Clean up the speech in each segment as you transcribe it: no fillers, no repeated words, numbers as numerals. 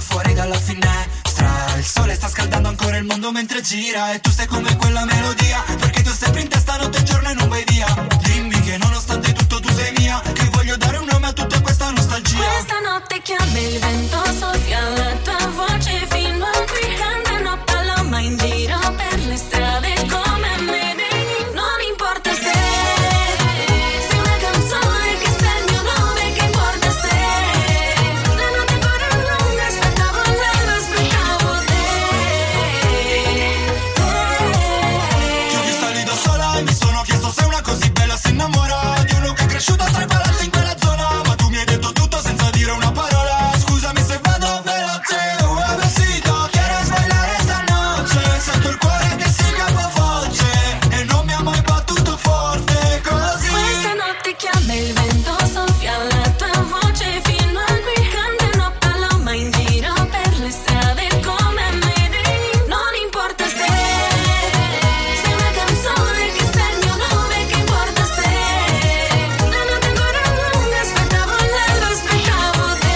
fuori dalla finestra. Il sole sta scaldando ancora il mondo mentre gira, e tu sei come quella melodia, perché tu sempre in testa notte e giorno e non vai via. Dimmi che nonostante tutto tu sei mia, che voglio dare un nome a tutta questa nostalgia. Questa notte chiama il vento, soffia la tua voce fino a qui. Cantano paloma in giro per le strade come me. Non importa se sei una canzone che sei il mio nome, che importa se la notte ancora lunga, aspettavo l'alba, aspettavo te. Ti ho vista lì da sola e mi sono chiesto se una così bella si innamora di uno che è cresciuto tra i palazzi in quella zona. Ma tu mi hai detto tutto senza dire una parola. Scusami se vado veloce, un besito, quieres bailar esta noche. Sento il cuore che si capovolge e non mi ha mai battuto forte così. Questa notte chiama il vento, soffia la tua voce fino a qui. Cantano paloma in giro per le strade come me. Non importa se sei una canzone che sei il mio nome, che importa se la notte ancora lunga, aspettavo l'alba, aspettavo te.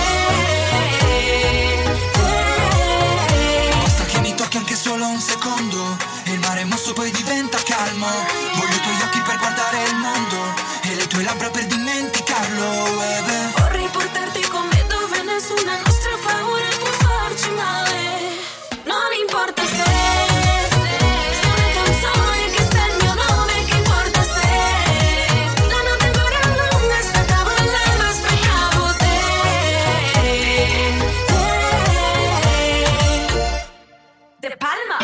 Basta che mi tocchi anche solo un secondo e il mare mosso poi diventa calmo. Voglio i tuoi occhi per guardare il mondo e le tue labbra per dimenticarlo, baby. Vorrei portarti con me dove nessuna nostra paura può farci male. Non importa se sei una canzone che sei il mio nome, che importa se la notte ancora lunga, aspettavo l'alba, aspettavo te. De Palma.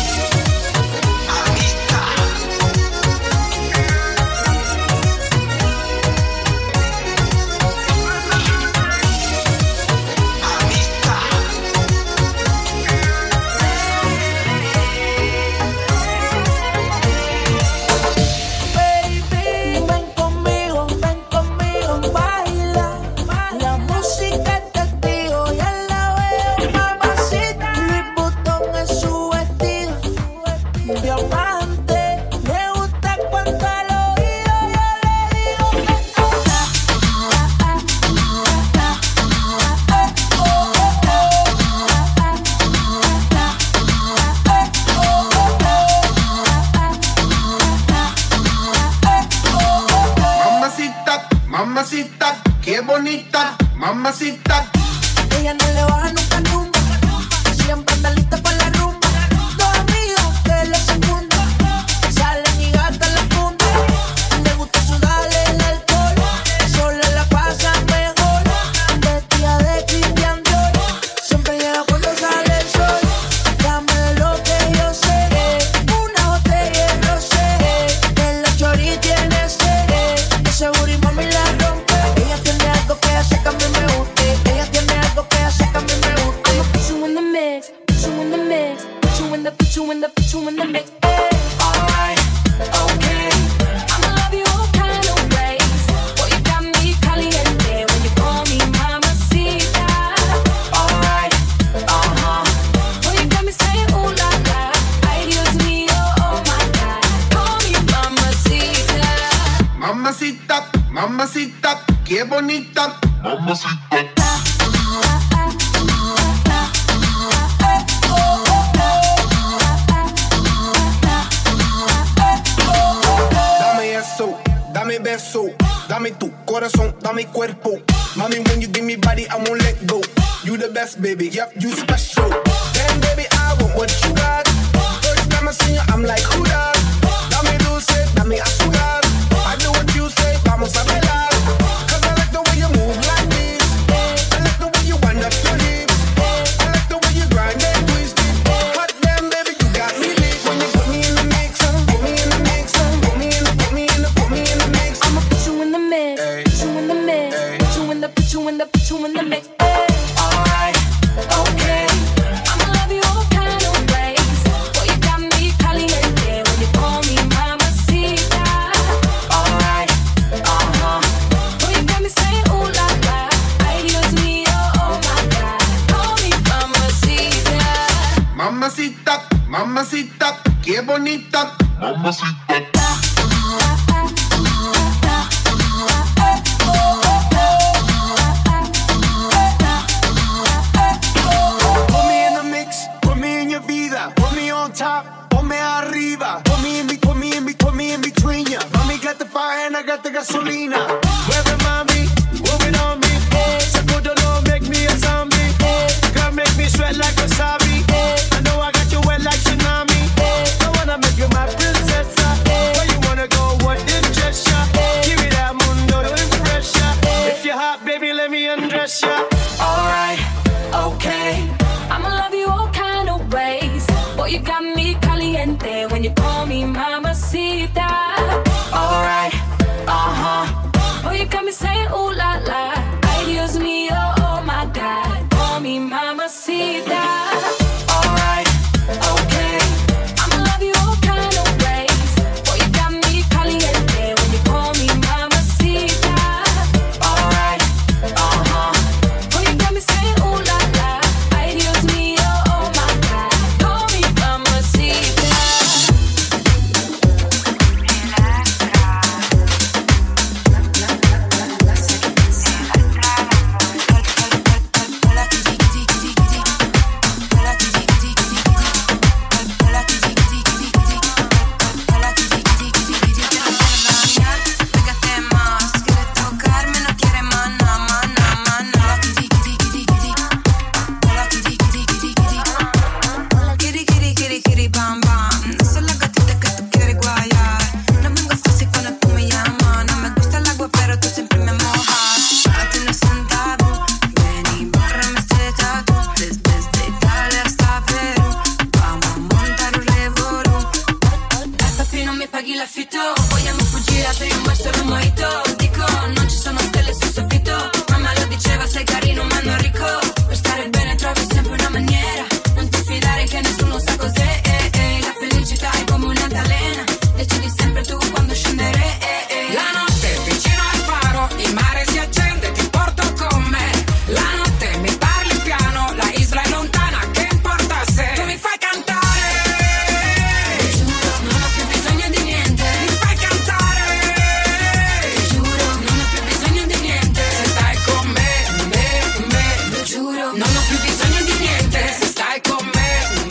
Baby, ven conmigo, baila. La música es testigo, ya la veo, mamacita. Louis Vuitton es su vestido, diamante. Me gusta cuando al oído yo le digo Mamacita, mamacita, qué bonita, mamacita. ella no le baja nunca nunca, siempre anda lista para la rumba. Dos amigos que le secundan, salen y gastan la funda. Le gusta sudarle el alcohol, sola la pasa mejor. Vestida de Christian Dior, siempre llega cuando sale el sol. Dame lo que yo sé, una botella de rosé. En la chori tiene sed, ese booty mami la rompe. Ella tiene algo que hace que a mí me guste. Ella tiene algo que hace que a mí me guste. I'ma put you in the mix, put you in the mix, put you in the, put you in the, put you in the mix. Alright, okay. I'ma love you all kind of ways. Boy, you got me caliente when you call me mamacita. Alright, Boy, you got me saying ooh la la. Ay, Dios mío, oh my God. Call me mamacita. Mamacita, mamacita, qué bonita, mamacita. Dame eso, dame beso, dame tu corazón, dame cuerpo. Mami, when you give me body, I won't let go. You the best, baby, yep, you special. Damn, baby, I want what you got. First time I see you, I'm like, who that? Dame dulce, dame azúcar. I do what you say, vamos a bailar. Cause I like the way you move like this. I like the way you wind up your hips. I like the way you grind and twist it. Hot damn, baby, you got me lit. When you put me in the mix, put me in the mix, put me in the, put me in the, put me in the mix. I'ma put you in the mix, put you in the mix, put you in the, put you in the, put you in the mix. alright, okay. I'ma love you all kind of ways. Boy, you got me caliente when you call me mamacita. Alright, Boy, you got me saying ooh la la. Ay, Dios mío, oh my God. Call me mamacita. Mamacita, mamacita, qué bonita, mamacita. ponete gasolina. Mueve mami, move it on me. Sacudo no make me a zombie. Girl make me sweat like wasabi. I know I got you wet like tsunami. I wanna make you my princess. Where you wanna go, what interest ya? Give me that mundo to impress ya. If you're hot, baby, let me undress ya. Alright, okay, I'ma love you all kind of ways. Boy, you got me caliente when you call me mamacita. Alright, boy, you got me saying ooh la la. Ay, Dios mío, oh my God, call me mamacita. Alright, okay, I'ma love you all kind of ways. Boy, you got me caliente when you call me mamacita. Alright, boy, you got me saying ooh la la. Ay, Dios mío, oh my God, call me mamacita. Pégate más, quiere tocarme, no quiere mana, mana, mana. Kiri, kiri, kiri, kiri, bam, bam. No soy la gatita que tú quieres guayar. No vengo fácil cuando tú me llamas. No me gusta el agua, pero tú siempre me mojas. Para ti no es un tabú. Ven y bórrame este tatu. Desde Italia hasta Perù. Vamos a montar un revolú. Papi, non mi paghi l'affitto. Vogliamo fuggire, apri un bar solo un mojito. Dico, non ci sono stelle sul soffitto. Mamma lo diceva, sei carino ma non ricco. Per stare bene trovi sempre una maniera. Non ti fidare che nessuno sa cos'è. La felicità è come un'altalena. Decidi sempre tu quando scendere. La notte vicino al faro, il mare si accende, ti porto con me. La notte mi parli piano, la isla è lontana, che importa se tu mi fai cantare? Ti giuro, non ho più bisogno di niente. Mi fai cantare? Ti giuro, non ho più bisogno di niente. Se stai con me, Lo giuro, non ho più bisogno di niente. Se stai con me,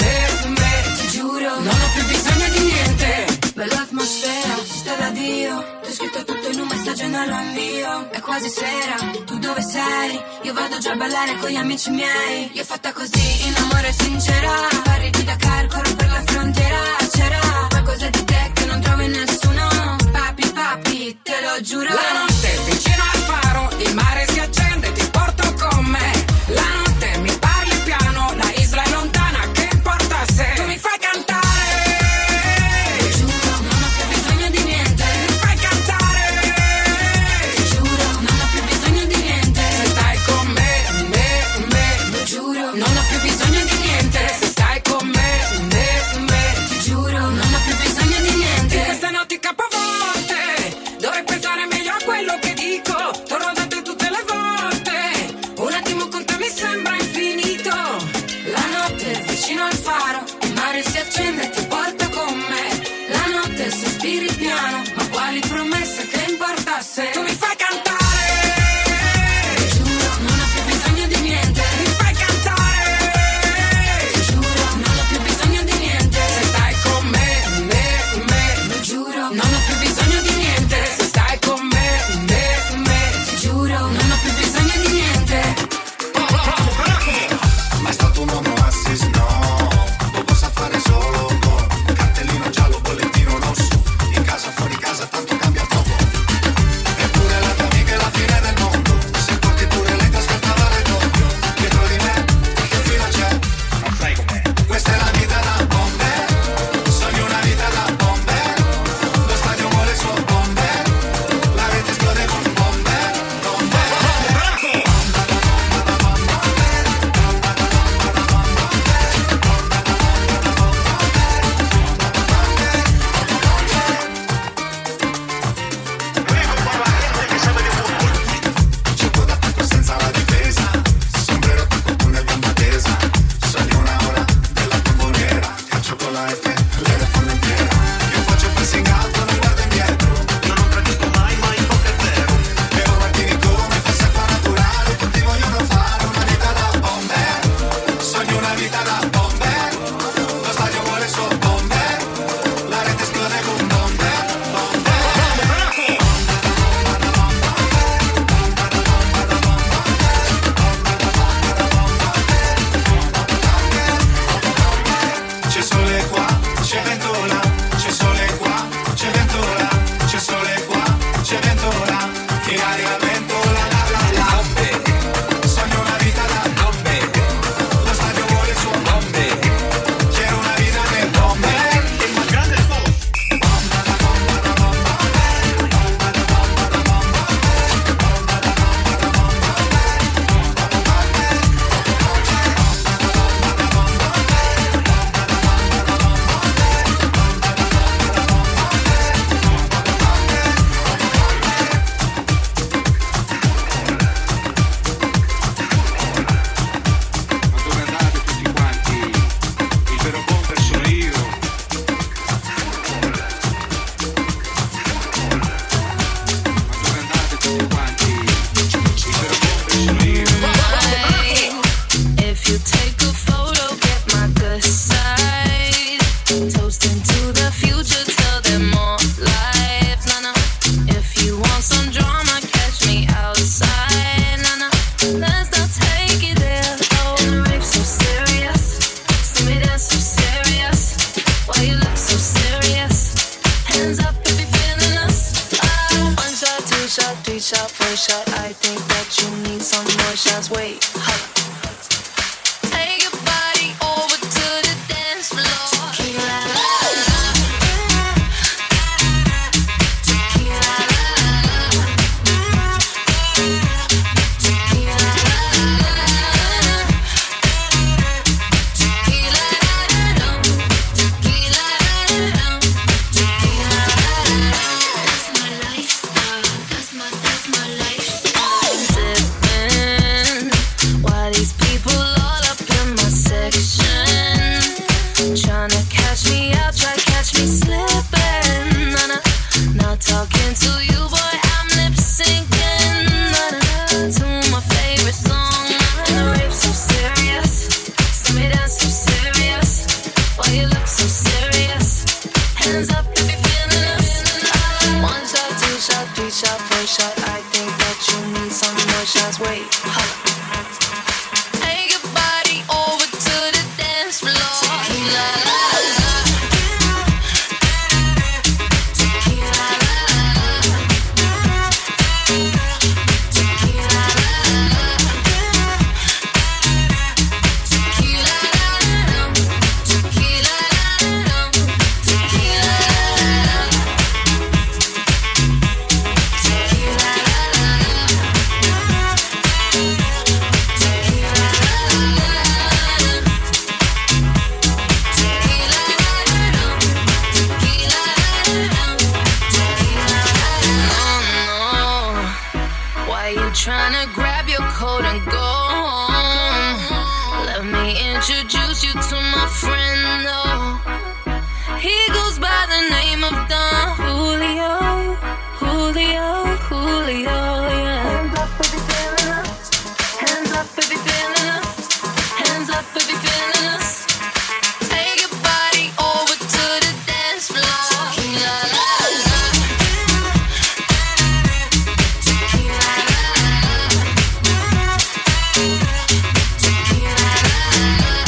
ti giuro. non ho più bisogno di niente. Bella atmosfera, sta da Dio. Ti ho scritto tutto in un messaggio e non lo invio. È quasi sera, tu dove sei? Io vado già a ballare con gli amici miei. Io fatta così, in amore sincera. Parli di Dakar, corro per la frontiera. C'era qualcosa di te che non trovo in nessuno. Papi, papi, te lo giuro. La notte vicino al faro, il mare si accende, ti porto con me. La notte mi parli piano, la isla è lontana, che importa se tu mi fai cantare? Ti giuro, non ho più bisogno di niente. Mi fai cantare? Ti giuro, non ho più bisogno di niente. Se stai con me, Lo giuro, non ho più bisogno di niente. Se stai con me, ti giuro, non ho più bisogno di niente. in queste notti capovolte dovrei pensare meglio a quello che dico. Torno da te tutte le volte. Un attimo con te mi sembra infinito. La notte vicino al faro, il mare si accende e ti porto con me. La notte sospiri piano, ma quali promesse, che importa se Tu mi fai cantare? Ti giuro, non ho più bisogno di niente. Mi fai cantare? Ti giuro, non ho più bisogno di niente. Se stai con me, Lo giuro, non ho più bisogno di niente. Se stai con me, ti giuro, non ho più bisogno di niente. Ma è stato un uomo assis, no. Lo possa fare solo con cartellino giallo, bollettino rosso. In casa, fuori casa, tanto cambia poco. Eppure la tua amica è la fine del mondo. Se porti pure lei ti aspettava le doppio. Dietro di me, che fila c'è? Non sai com'è. Questa è la vita da bomber. Sogno una vita da bomber. Lo stadio vuole shot, three shot, four shot. I think that you need some more shots. Wait, holla. Take your body over to the dance floor. Tequila, la, la. Tequila, la, la. Tequila, la, la. Tequila, la, la. Tequila, la, la. Tequila, la, la. That's my lifestyle. That's my lifestyle. Sipping while these people all up in my section, tryna catch me out, try catch me slipping. Not talking to you, boy, I'm lip syncing to my favorite song. The rape so serious, see me dance so serious. Why you look so serious? Hands up if you're feeling us. One shot, two shot, three shot, four shot. I think that you need some more shots. Wait, holla. Take your body over to the dance floor. Tequila, la, la. Tequila, la, la. Tequila, la, la. Tequila, la, la. Tequila, la, la. Tequila, la, la. Tequila, la, why you tryna grab your coat and go home? Let me introduce you to my friend, though. He goes by the name of Don Julio, Julio, Julio, yeah. Hands up if you're feeling us. Hands up if you're feeling us. Hands up if you're feeling us. Take your body over to the dance floor. Tequila, la, la. Tequila, la, la. Tequila, la, la.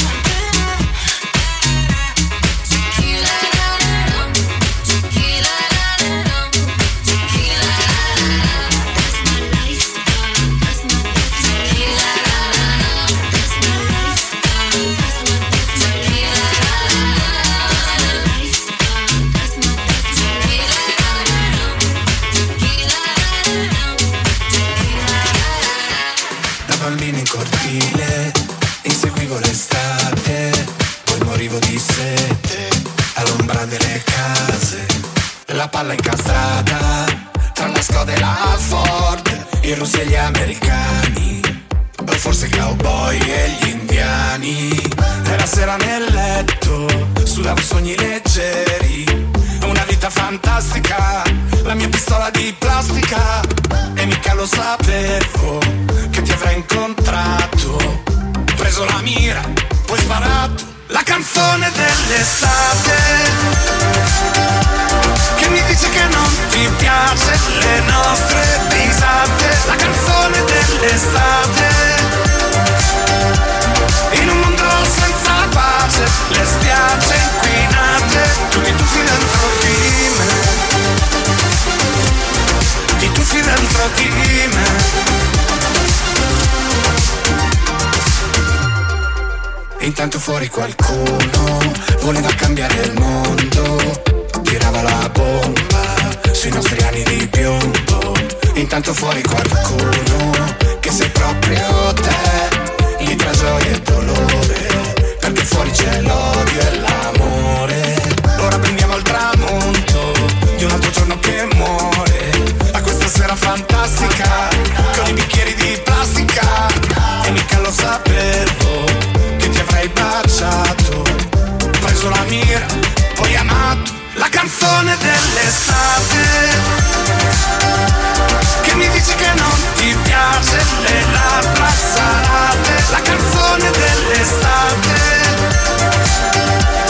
Tequila, la, la. Tequila, la, la. Tequila, la, la. That's my lifestyle. That's my tequila, la, la. That's my lifestyle. That's my tequila, la, la. That's my lifestyle. That's my tequila, la, la. Tequila, la, la. Tequila, la, la. Da bambino in cortile inseguivo l'estate, poi morivo di sete all'ombra delle case. La palla incastrata tra la Skoda e la Ford, i russi e gli americani, o forse i cowboy e gli indiani. E la sera nel letto sudavo sogni leggeri, una vita fantastica, la mia pistola di plastica. E mica lo sapevo che ti avrei incontrato. Preso la mira, poi sparato. La canzone dell'estate che mi dice che non ti piace le nostre risate. La canzone dell'estate in un mondo senza pace, le spiagge inquinate, tu ti tuffi dentro di me, ti tuffi dentro di me. Intanto fuori qualcuno voleva cambiare il mondo, tirava la bomba sui nostri anni di piombo. Intanto fuori qualcuno che sei proprio te, gli tra gioia e dolore, perché fuori c'è l'odio e l'amore. Ora prendiamo al tramonto di un altro giorno che muore, a questa sera fantastica con i bicchieri di plastica. E mica lo sapevo che ti avrei baciato, preso la mira, poi amato. La canzone dell'estate che mi dice che non ti piace le labbra salate. La canzone dell'estate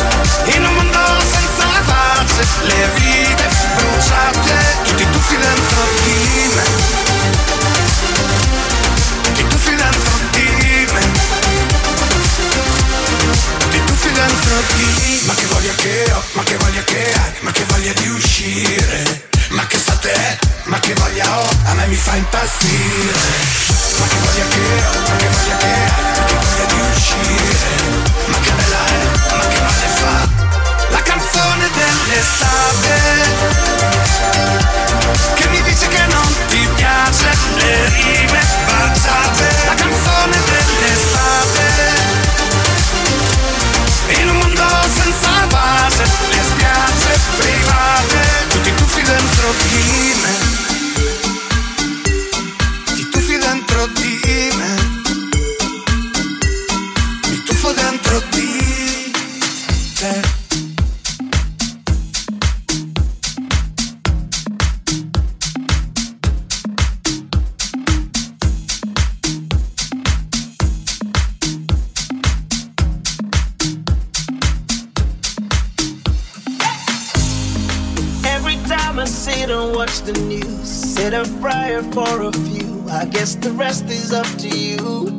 ma che voglia ho, a me mi fa impazzire. Ma che voglia che ho, ma che voglia che hai, ma che voglia di uscire. Ma che bella è, ma che male fa la canzone dell'estate che mi dice che non ti piace le rime baciate. La canzone dell'estate in un mondo senza base, le spiagge private, tutti tuffi dentro di me, ti tuffi dentro di me, mi tuffo dentro di te. Sit and watch the news, set a prayer for a few. I guess the rest is up to you.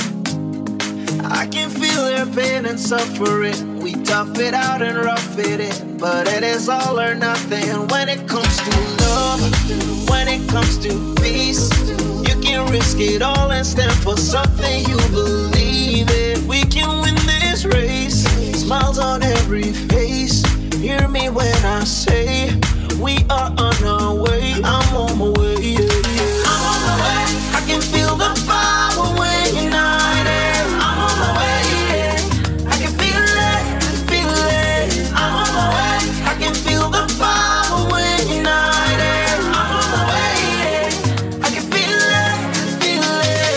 I can feel their pain and suffering. We tough it out and rough it in, but it is all or nothing when it comes to love. When it comes to peace, you can risk it all and stand for something you believe in. We can win this race, smiles on every face. Hear me when I say we are on our way. I'm on my way, yeah, yeah. I'm on my way. I can feel the power when you're united. I'm on my way, yeah. I can feel it, feel it. I'm on my way. I can feel the power when you're united. I'm on my way, yeah. I can feel it, feel it.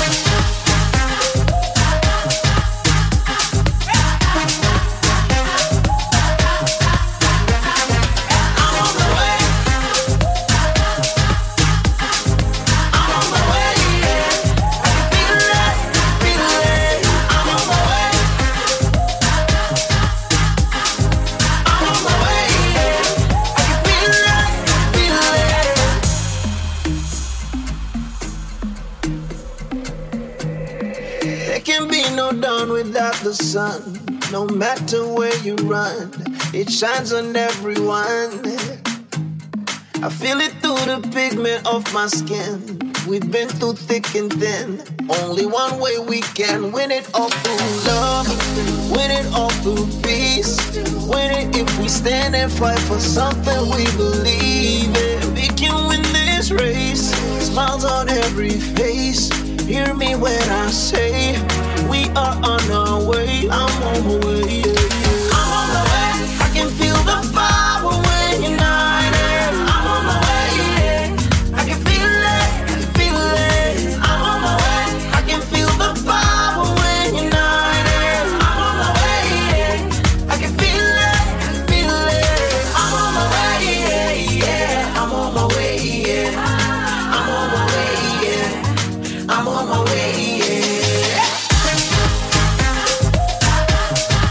Without the sun, no matter where you run, it shines on everyone. I feel it through the pigment of my skin. We've been through thick and thin. Only one way we can win it all through love, win it all through peace. Win it if we stand and fight for something we believe in. We can win this race, smiles on every face. Hear me when I say we are on our way. I'm on my way, yeah, yeah. I'm on my way. I can feel the power when you're united. I'm on my way, yeah. I can feel it, feel it. I'm on my way. I can feel the power when you're united. I'm on my way, yeah. I can feel it, feel it. I'm on my way, yeah, yeah. I'm on my way, yeah. I'm on my way, yeah. I'm on my way, yeah.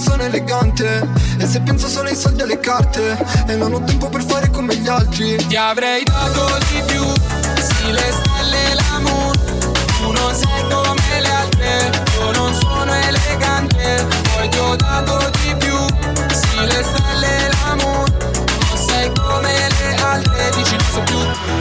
sono elegante. E se penso solo ai soldi e alle carte, e non ho tempo per fare come gli altri. Ti avrei dato di più, sì le stelle e l'amour. Tu non sei come le altre, io non sono elegante. Poi ti ho dato di più, sì le stelle e l'amour. Non sei come le altre, dici non so più.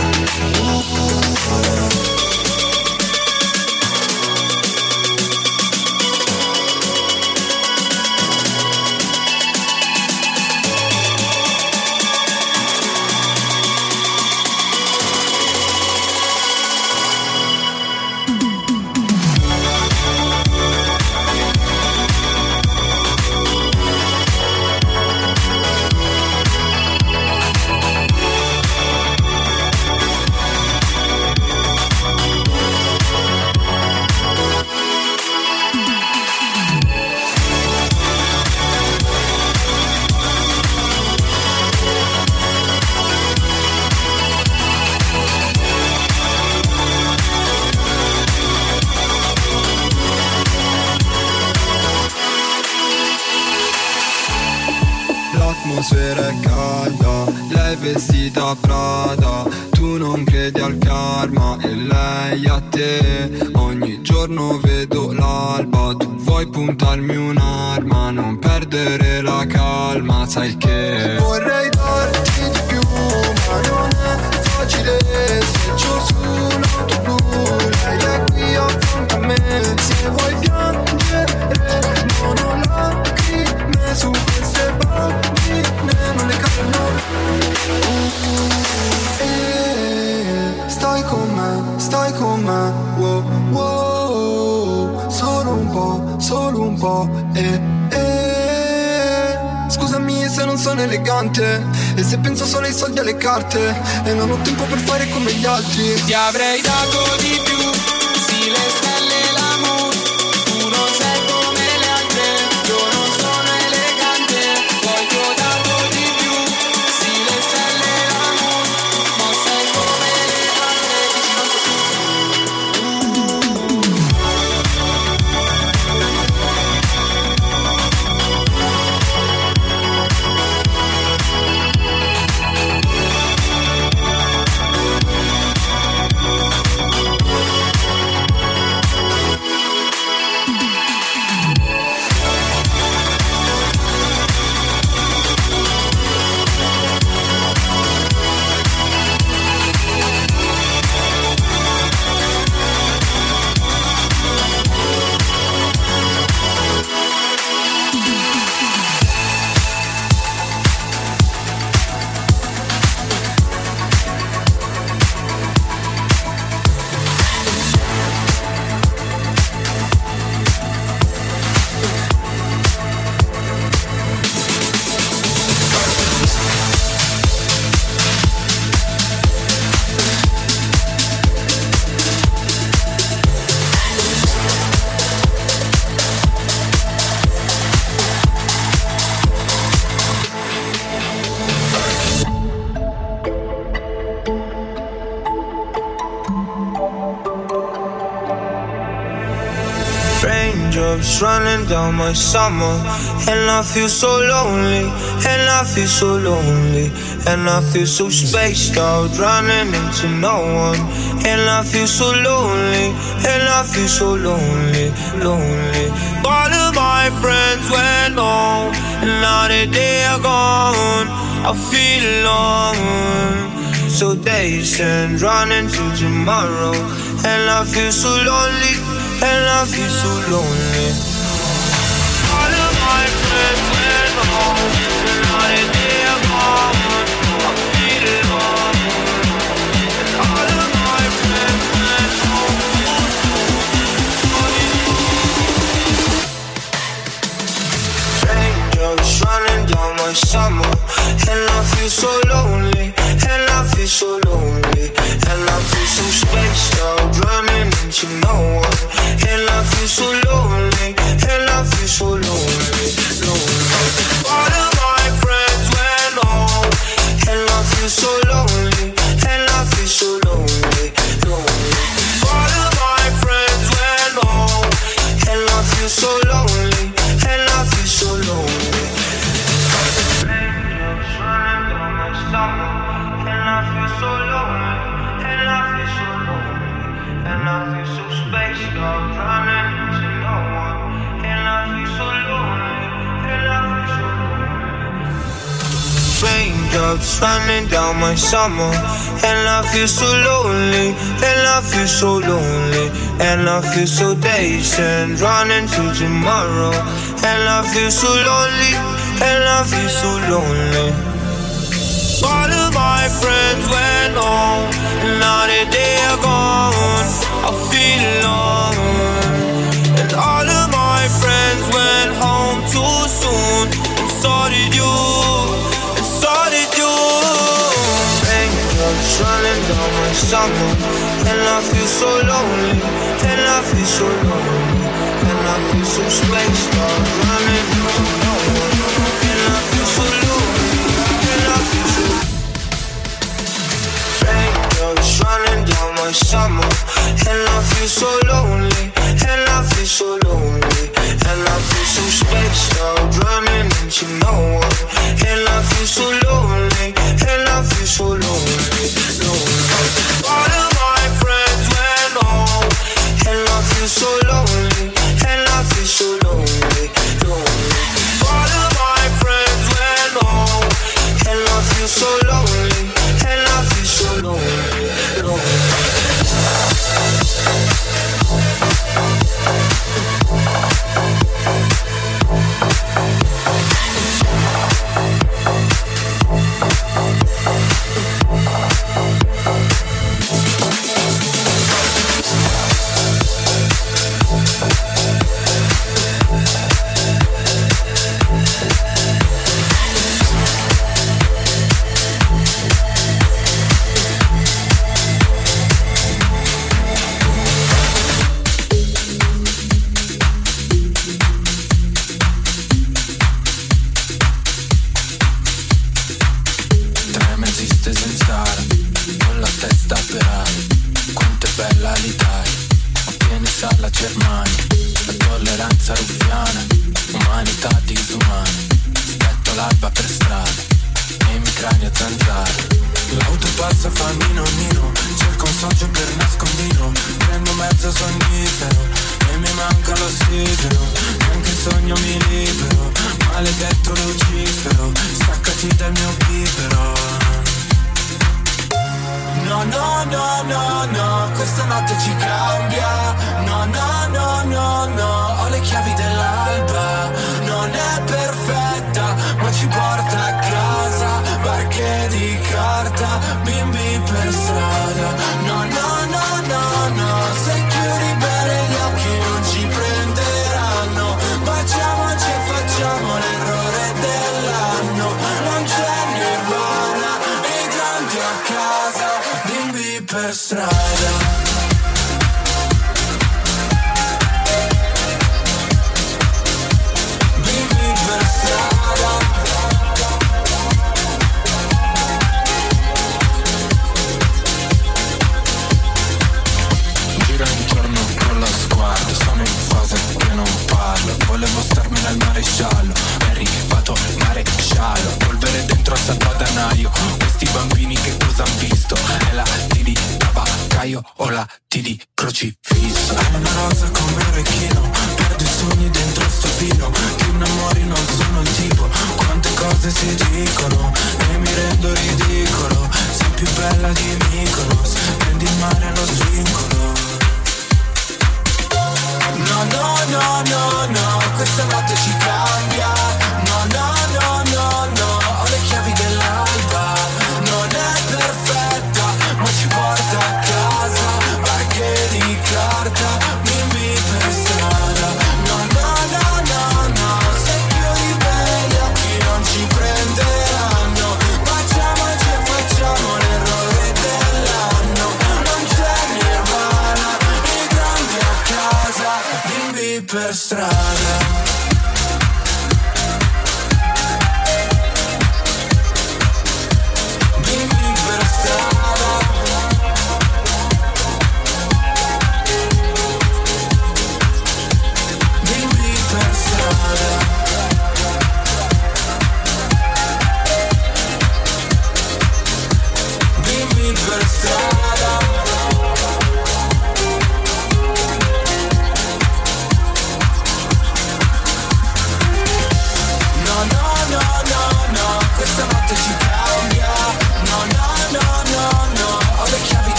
L'atmosfera è calda, lei vestita Prada. Tu non credi al karma e lei a te. Ogni giorno vedo l'alba, tu vuoi puntarmi un'arma. Non perdere la calma, sai che vorrei darti di più, ma non è facile. Se giù sull'auto blu, lei è qui a fianco a me. Se vuoi piangere, non ho lacrime su queste bambine, non le calmo. Stai con me, wow, wow. Solo un po', Scusami se non sono elegante, e se penso solo ai soldi e alle carte, e non ho tempo per fare come gli altri. Ti avrei dato di più, sì le stelle e l'amour. Tu non sei come le altre, io non sono elegante. Poi ti ho dato di più, sì le stelle e l'amour. Non sei come le altre, dici non so più. Raindrops running down my summer, and I feel so lonely, and I feel so lonely, and I feel so spaced out, running into no one, and I feel so lonely, and I feel so lonely, lonely. All of my friends went home, and now that they are gone, I feel alone. So days and running to tomorrow, and I feel so lonely, and I feel so lonely. All of my friends went home, and now that they are gone, I feel alone. And all of my friends went home. Raindrops running down my summer, and I feel so lonely, and I feel so lonely, and I feel so spaced out, running into no one, and I feel so lonely, and I feel so lonely, lonely. All of my friends went home, and I feel so lonely, and I feel so lonely, lonely. All of my friends went home, and I feel so lonely, and I feel so lonely. Raindrops running down my summer, and I feel so lonely, and I feel so lonely, and I feel so dazed and running to tomorrow, and I feel so lonely, and I feel so lonely. All of my friends went home, and now that they are gone, I feel alone. And all of my friends went home too soon, and so did you, and so did you. Raindrops running down my summer, and I feel so lonely, and I feel so lonely, and I feel so spaced out, running to no one, and I feel so lonely, and I feel so. Raindrops running down my summer, and I feel so lonely, and I feel so lonely, and I feel so spaced out, running into no one, and I feel so lonely, and I feel so lonely, lonely. All of my friends went home, and I feel so lonely, and I feel so lonely, lonely. All of my friends went home, and I feel so lonely, and I feel so lonely, lonely. Sei più di belli occhi non ci prenderanno.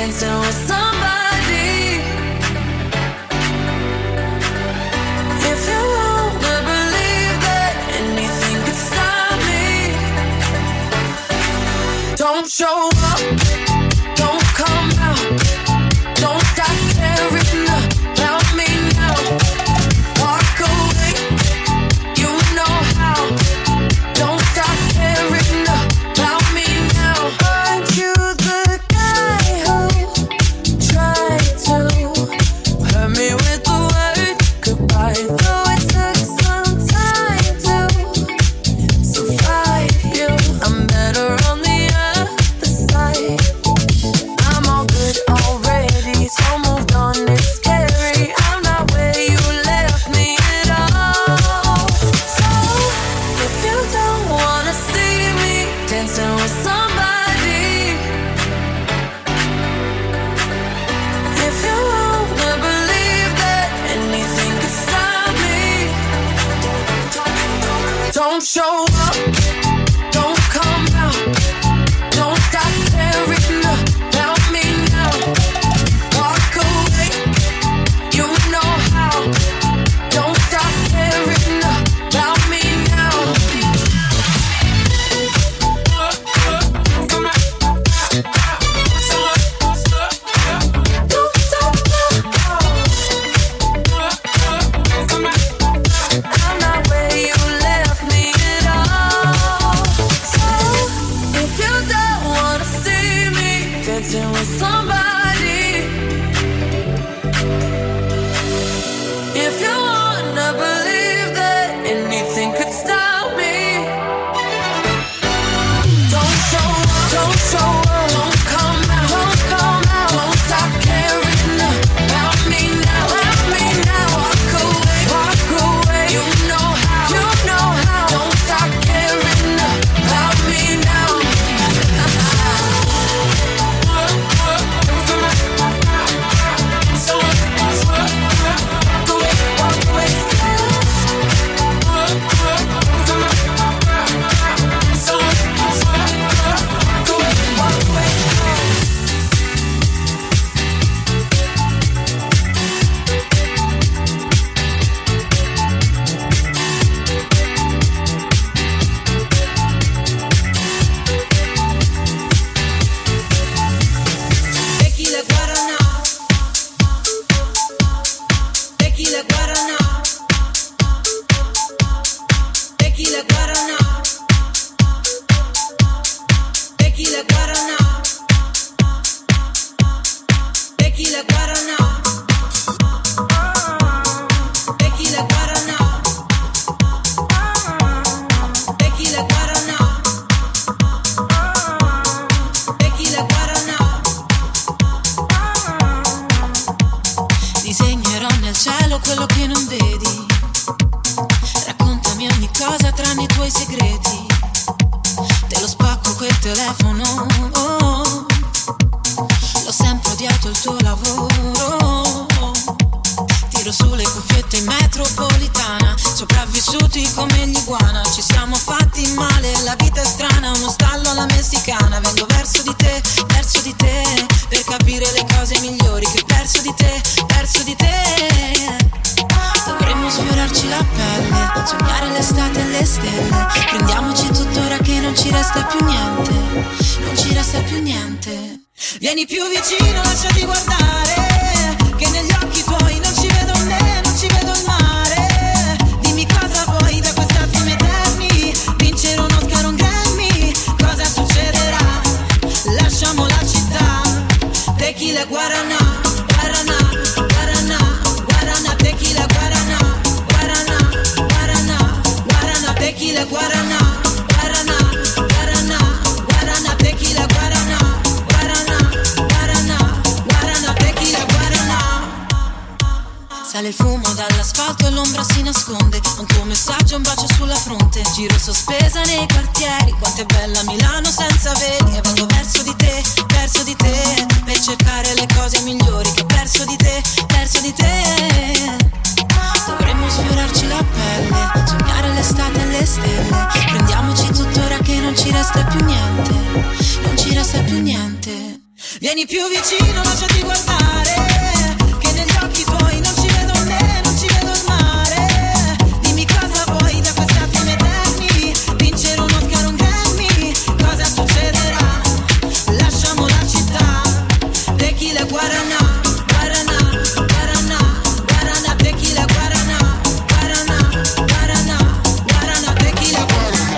dancing with somebody. If you wanna believe that anything could stop me, don't show up, don't come out, don't stop caring about me now. Walk away, you know how. Don't stop caring about me now. Aren't you the guy who tried to hurt me with the word goodbye? Though it took some time to survive you, I'm better on the other side. I'm all good already, so moved on, it's scary. I'm not where you left me at all. So if you don't wanna see me dancing with somebody, if you wanna believe that anything could stop me, don't show up, don't come out, don't stop caring about me now. Walk away, you know how. Don't stop caring about me now. Don't stop now. I'm not where you left me at all. So if you don't wanna see me dancing with somebody, if you wanna believe that anything could stop me, don't show up, don't show up, don't come out, don't come out, don't stop caring about me now, about me now. Walk away, you know how, you know how. Don't stop caring about me now. Tequila Guaraná, Tequila Guaraná, Tequila Guaraná, Tequila Guaraná, Tequila Guaraná, Tequila Guaraná, Tequila Guaraná, Tequila Guaraná. Disegnerò nel cielo quello che non vedi. Raccontami ogni cosa tranne i tuoi segreti. Te lo spacco quel telefono, oh. L'ho sempre odiato il tuo lavoro. Tiro sulle cuffiette in metropolitana, sopravvissuti come l'iguana. Ci siamo fatti male, la vita è strana, uno stallo alla messicana. Vengo verso di te, per capire le cose migliori che perso di te, perso di te. Dovremmo sfiorarci la pelle, sognare l'estate e le stelle. Prendiamoci tuttora che non ci resta più niente, non ci resta più niente. Vieni più vicino, lasciati guardare, che negli occhi tuoi non ci vedo me, non ci vedo il mare. Dimmi cosa vuoi da quest'attimo eterni, vincere un Oscar, un Grammy, cosa succederà? Lasciamo la città. Tequila Guaraná, Guaraná, Guaraná, Guaraná, Tequila Guaraná, Guaraná, Guaraná, Guaraná, Tequila Guaraná, Guaraná, Guaraná, Guaraná, Tequila Guaraná, Guaraná, Guaraná, Guaraná, Tequila Guaraná. Sale il fumo dall'asfalto e l'ombra si nasconde. Un tuo messaggio, un bacio sulla fronte. Giro sospesa nei quartieri. Quanto è bella Milano senza veli. E vengo verso di te, per cercare le cose migliori che ho perso di te, perso di te. Dovremmo sfiorarci la pelle, sognare l'estate e le stelle. Prendiamoci tuttora che non ci resta più niente, non ci resta più niente. Vieni più vicino, lasciati guardare, che negli occhi tuoi non ci vedo me, non ci vedo il mare. Dimmi cosa vuoi da questi attimi eterni, vincere un Oscar, un Grammy, cosa succederà? Lasciamo la città, tequila guaraná, guaraná, guaraná, guaraná, tequila guaraná, guaraná, guaraná, guaraná, tequila guaraná,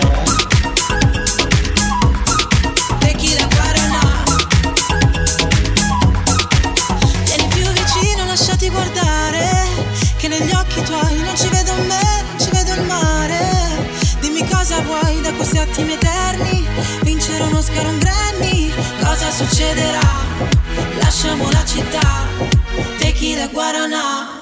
tequila guaraná. Vieni più vicino, lasciati guardare, che negli occhi tuoi non ci vedo me, non ci vedo il mare. Dimmi cosa vuoi da questi attimi eterni, vincere un Oscar, un Grammy, cosa succederà? Lasciamo la città, tequila guaraná.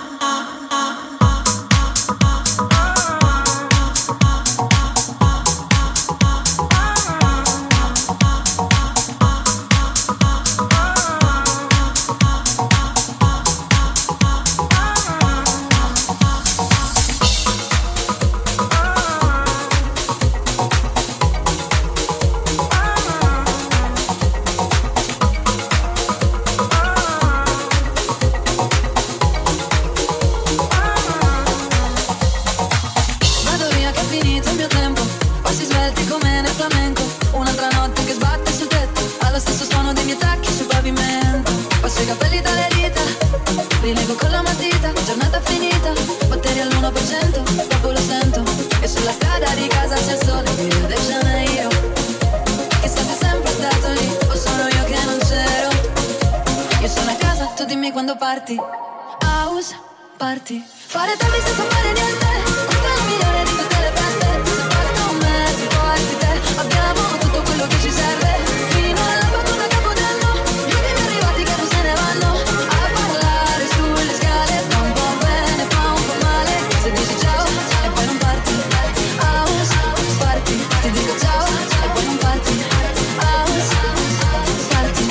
Vado via che è finito il mio tempo, passi svelti come nel flamenco, un'altra notte che sbatte sul tetto, allo stesso suono dei miei tacchi sul pavimento. Passo i capelli dalle dita, rilego con la matita, giornata finita, batteri all'1%, dopo lo sento, e sulla strada di casa c'è il sole di Rio de Janeiro. Chissà se è sempre stato lì, o sono io che non c'ero. Io sono a casa, tu dimmi quando parti. House party, fare tardi senza fare niente, questa è la migliore di tutte le feste. Se parti con me, se porti te, abbiamo tutto quello che ci serve. Fino all'alba come a Capodanno, gli ultimi arrivati che non se ne vanno a parlare sulle scale. Fa un po' bene, fa un po' male, se dici ciao e poi non parti. House party, ti dico ciao e poi non parti. House party.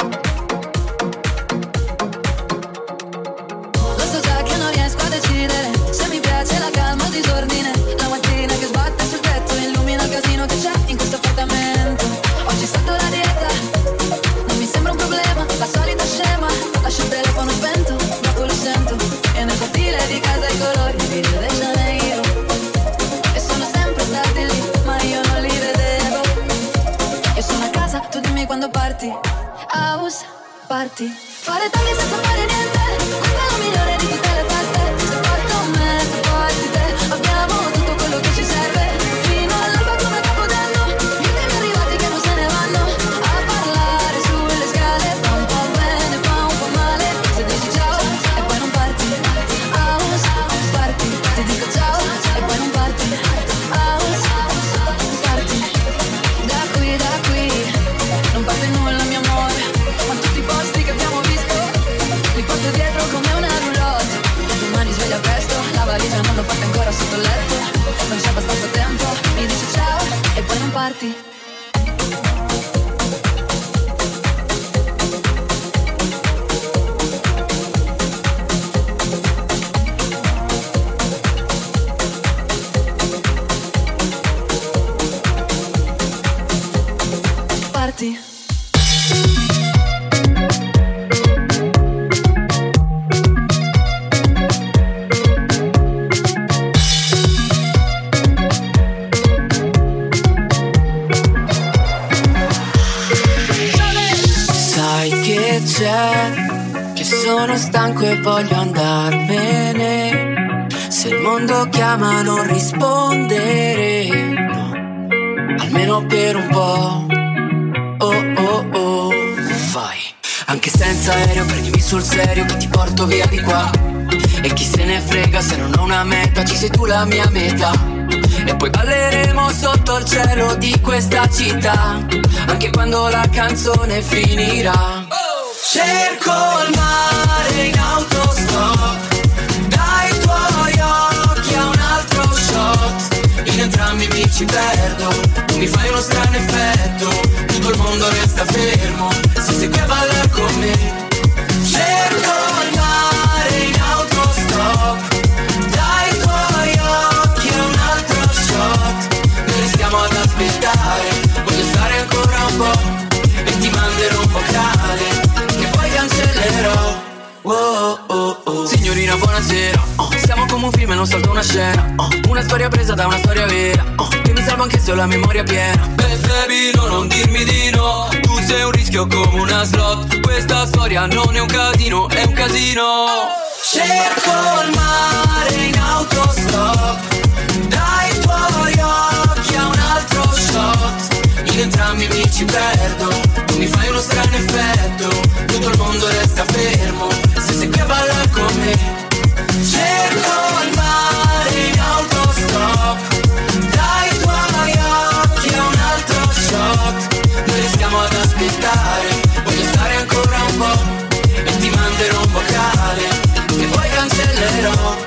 Lo so già che non riesco a decidere se mi piace la calma o disordine. La mattina che sbatte sul tetto illumina il casino che c'è in questo appartamento. Oggi salto la dieta, non mi sembra un problema, la solita scema. Lascio il telefono spento, dopo lo sento, e nel cortile di casa i colori di Rio de Janeiro. E sono sempre stati lì, ma io non li vedevo. Io sono a casa, tu dimmi quando parti. House party, fare tardi senza fare niente, questa è la migliore di tutte le feste. Se parti con me, se porti te, abbiamo tutto quello che ci serve. Fino all'alba come a Capodanno, gli ultimi arrivati che non se ne vanno a parlare sulle scale. Fa un po' bene, fa un po' male, se dici ciao e poi non parti. House party, ti dico ciao e poi non parti. House party, da qui, non parte nulla mio amore, ma tutti i posti che abbiamo visto li porto dietro come una roulotte. Domani sveglia presto, la valigia non l'ho fatta ancora sotto il letto, non c'è abbastanza tempo, mi dici ciao e poi non parti. Parti. Sai che c'è, che sono stanco e voglio andarmene. Se il mondo chiama non rispondere, no, almeno per un po'. Oh oh oh, vai. Anche senza aereo prendimi sul serio che ti porto via di qua. E chi se ne frega se non ho una meta, ci sei tu la mia meta. E poi balleremo sotto il cielo di questa città, anche quando la canzone finirà. Cerco il mare in autostop, dai tuoi occhi a un altro shot. In entrambi mi ci perdo, tu mi fai uno strano effetto, tutto il mondo resta fermo se sei qui a ballare con me. Cerco il mare in autostop, dai tuoi occhi a un altro shot. Noi restiamo ad aspettare, voglio stare ancora un po' e ti manderò un vocale soltanto una scena, una storia presa da una storia vera, che mi salva anche se ho la memoria piena. Baby, no, non dirmi di no, tu sei un rischio come una slot. Questa storia non è un casino, è un casino. Cerco il mare in autostop, dai tuoi occhi a un altro shot. In entrambi mi ci perdo, tu mi fai uno strano effetto, tutto il mondo resta fermo, se sei qui a ballare con me. Cerco il mare in autostop, dai tuoi occhi a un altro shot. Noi restiamo ad aspettare, voglio stare ancora un po', e ti manderò un vocale, e poi cancellerò.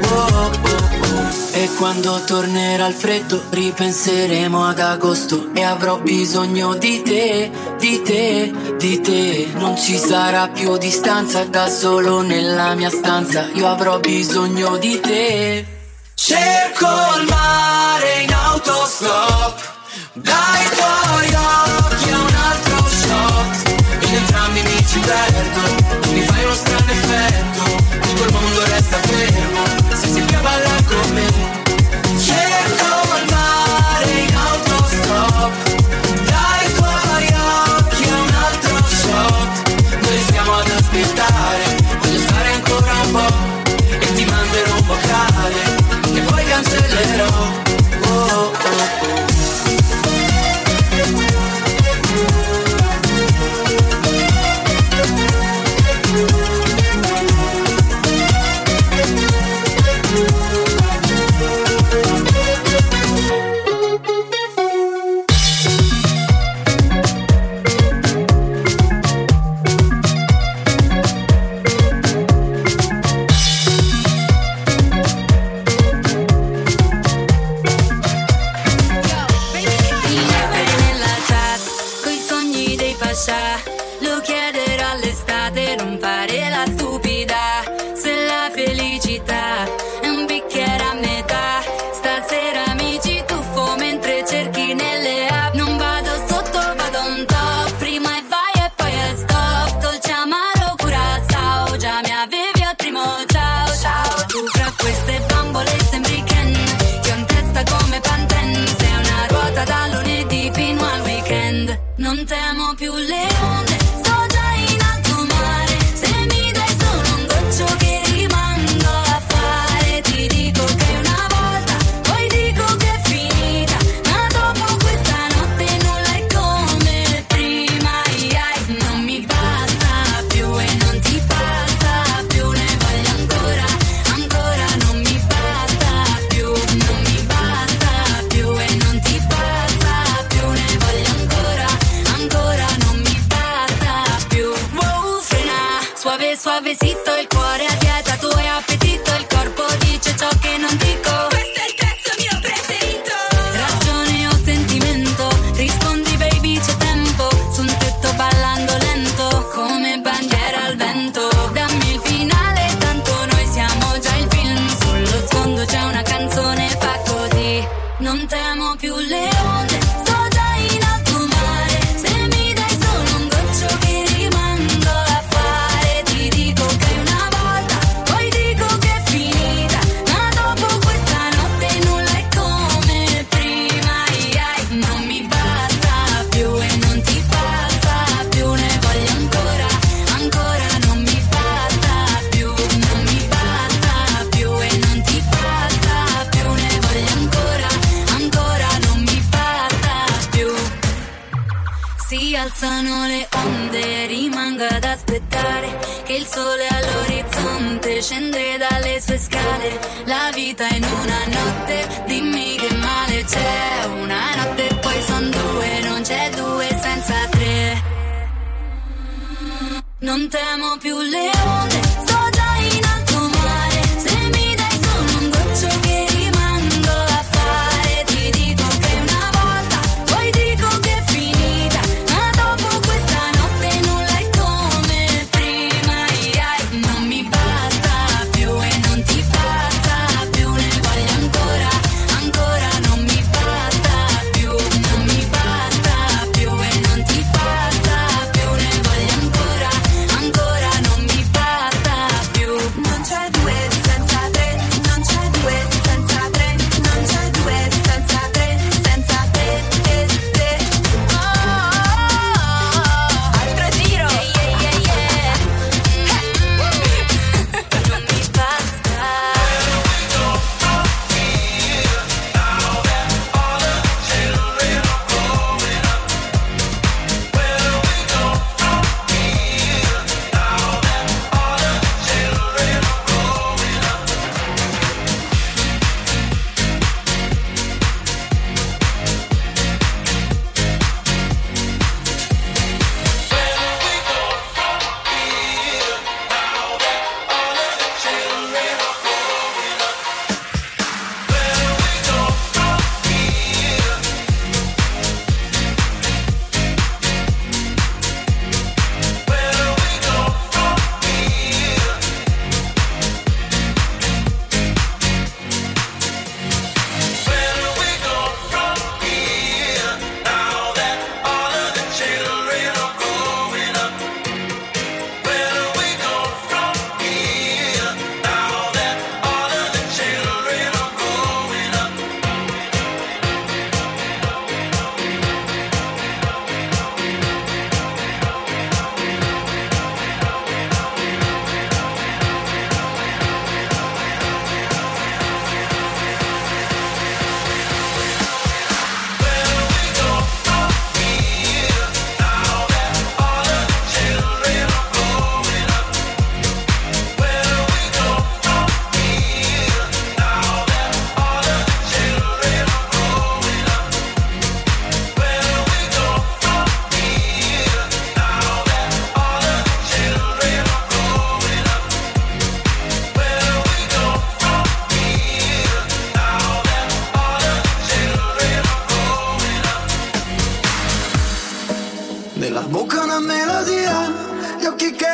E quando tornerà il freddo ripenseremo ad agosto, e avrò bisogno di te, di te, di te. Non ci sarà più distanza, da solo nella mia stanza io avrò bisogno di te. Cerco il mare in autostop, dai tuoi occhi a un altro shot. In entrambi mi ci perdo, mi fai uno strano effetto, tutto il mondo resta fermo, se sei qui a ballare con me. Cerco il mare in autostop, dai tuoi occhi a un altro shot. Noi stiamo ad aspettare, voglio stare ancora un po', e ti manderò un vocale, e poi cancellerò. Lo chiederò all'estate, non fare la stupida. Se la felicità è un bicchiere a metà, stasera mi ci tuffo mentre cerchi nelle app. Non vado sotto, vado on top, prima e vai e poi è stop. Dolce amaro Curaçao, già mi avevi al primo ciao ciao. Tu fra queste bambole sembri Ken, ti ho in testa come Pantene. Sei una ruota da lunedì fino al weekend. Non temo più le onde, sto già in alto mare. Se mi dai solo un goccio che rimando a fare, ti dico che una volta, poi dico che è finita, ma dopo questa notte nulla è come prima. Non mi basta più e non ti passa più, ne voglio ancora, ancora. Non mi basta più, non mi basta più e non ti passa più, ne voglio ancora, ancora. Non mi basta più. Wow, frena, suave suavecito, il cuore a dieta, tu hai appetito, il corpo dice ciò che non dico. Questo è il pezzo mio preferito. Ragione o sentimento, rispondi baby c'è tempo, su un tetto ballando lento, come bandiera al vento. Dammi il finale, tanto noi siamo già il film, sullo sfondo c'è una canzone, fa così. Non temo più le onde, sto già in alto mare. Se mi dai solo un goccio che rimando a fare, ti dico che una volta, poi dico che è finita, ma dopo questa notte nulla è come prima. Non mi basta più e non ti passa più, ne voglio ancora, ancora. Non mi basta più, non mi basta più e non ti passa più, ne voglio ancora, ancora. Non mi basta più. Si alzano le onde, rimango ad aspettare che il sole all'orizzonte scende dalle sue scale. La vita in una notte, dimmi che male c'è. Una notte e poi son due, non c'è due senza tre. Non temo più le onde, sto già in alto mare. Se mi dai solo un goccio che rimando a fare, ti dico che una volta, poi dico che è finita, ma dopo questa notte nulla è come prima. Non mi basta più e non ti passa più, ne voglio ancora, ancora. Non mi basta più, non mi basta più e non ti passa più, ne voglio ancora, ancora. Non mi basta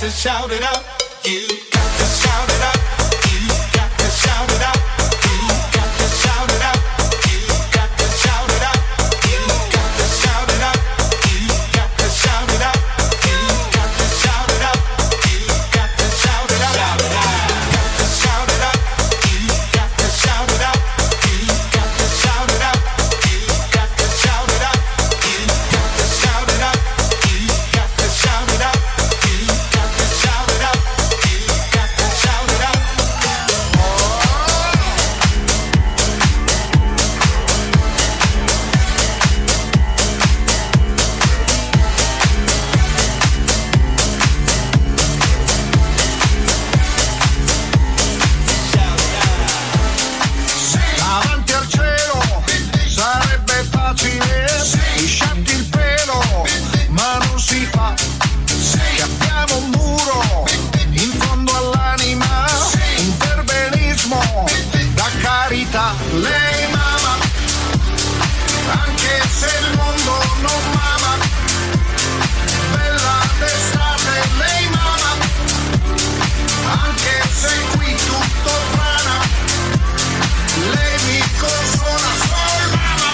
to shout it out. You got to shout it out. You got to shout it out. You got to shout it out. You got to shout it out. You got to shout it out. You got to shout it out. You got to shout it out. You got to shout it out. Got to shout it out. You got to shout it out. You got to shout it out. You got to shout it out. You got to shout it out. You got to shout it out. You got to shout it out. You got to shout it out. Davanti al cielo sarebbe facile lisciarti il pelo, ma non si fa. Che abbiamo un muro in fondo all'anima, un perbenismo da carità. Lei mama, anche se il mondo non mama. Bella d'estate, lei mama, anche se qui tutto frana. Lei mi consola, sol mama.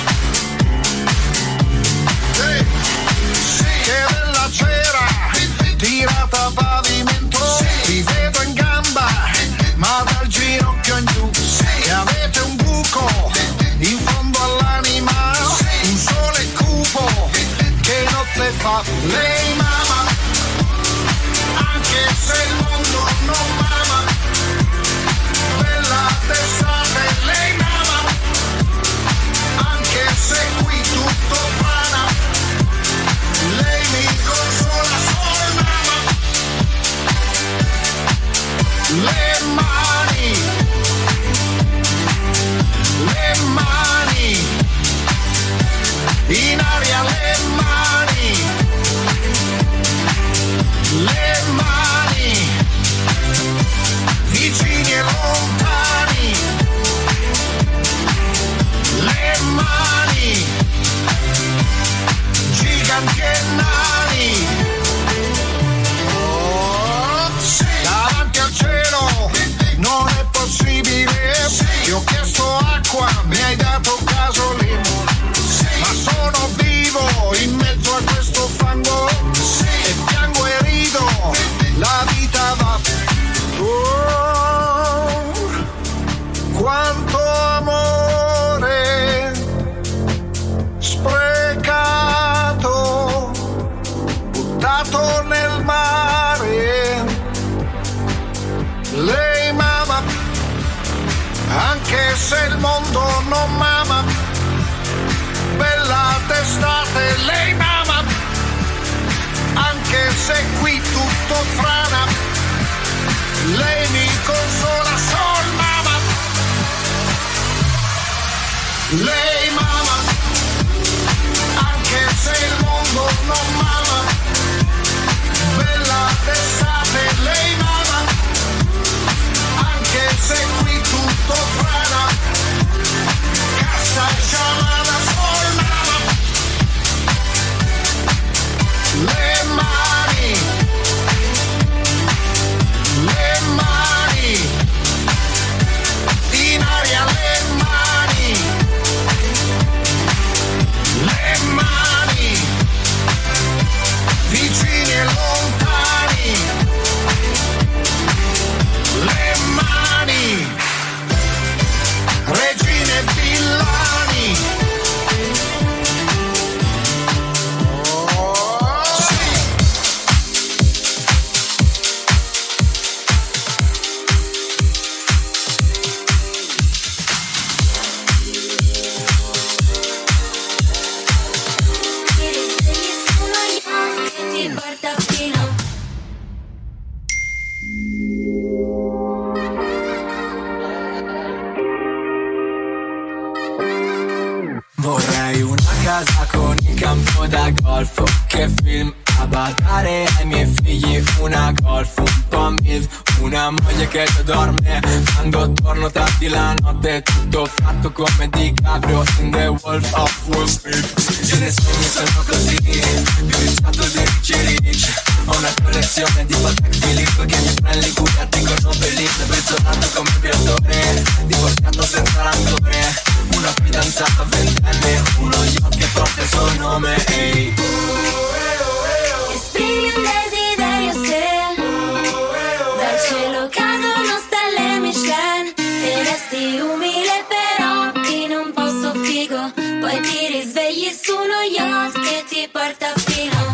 Che bella cera tirata a pavimento. Vi vedo in gamba, ma dal ginocchio in giù. E avete un buco in fondo all'anima, un sole cupo che notte fa. Lei mama, anche se il mondo non mama. Bella d'estate, lei mama, anche se qui tutto frana. Lei mi consola, sol mama. Le mani, in aria le mani, vicini e lontani. Le mani, giganti e nani. Davanti al cielo non è possibile. Ti ho chiesto acqua, mi hai dato gasolina. Ma sono vivo in mezzo a questo fango e piango e rido, la vita va. Oh, quanto amore sprecato, buttato nel mare. Lei mama, anche se il mondo non mama. Bella d'estate, lei mama, anche se qui tutto frana. Lei mi consola, sol mama. Lei mama, anche se il mondo non mama. Bella d'estate, lei mama, anche se qui tutto frana. Cassa sciamana, sol mama. Le mani, in aria le mani, vicini e lontani. Le mani, regine e villani. Vorrei una casa con il campo da golf, che film da badare ai miei figli, una Golf, un po' MILF, una moglie che dorme quando torno tardi la notte, tutto fatto come DiCaprio in The Wolf of Wall Street. Io ne sono così, più ricciato di Richie Rich. Ho una collezione di Patek Philippe che mi prende curati con Nobeliste, pezzolato come piattore, divorziato senza rancore, una fidanzata ventenne, uno yacht che porta il suo nome. Ehi. Esprimi un desiderio se dal cielo cadono stelle Michelin e resti umile però in un posto figo, poi ti risvegli su uno yacht che ti porta fino.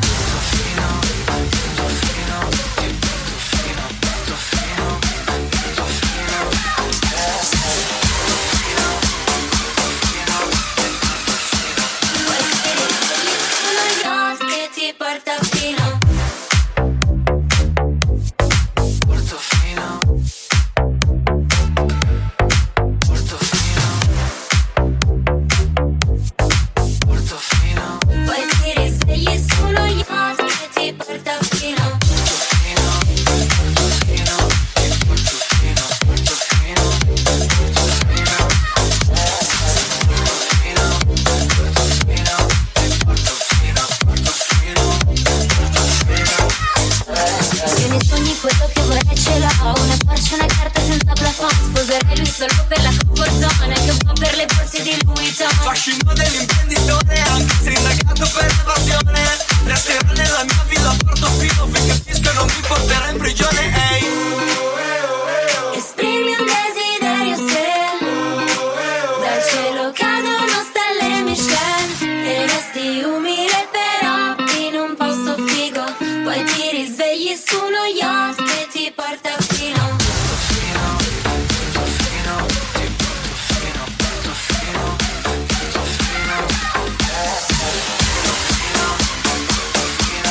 Fascino dell'imprenditore, anche se indagato per evasione, resterà nella mia villa Portofino finché fischio non mi porterà in prigione. Ehi. Esprimi un desiderio se dal cielo cadono stelle Michelin e resti umile però in un posto figo, poi ti risvegli su uno yacht che ti porta fino.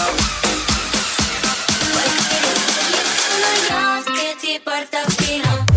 Porta fino.